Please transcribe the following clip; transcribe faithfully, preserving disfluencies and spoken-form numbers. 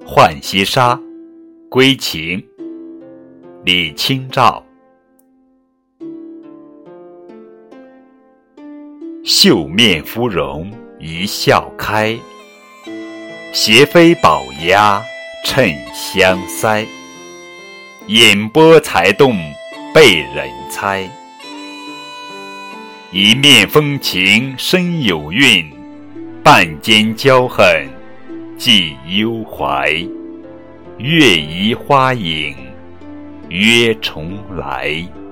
浣溪沙，归情，李清照。绣面芙蓉一笑开，斜飞宝鸭衬香腮。眼波才动被人猜，一面风情深有韵，半间娇恨寄幽怀。月移花影约重来。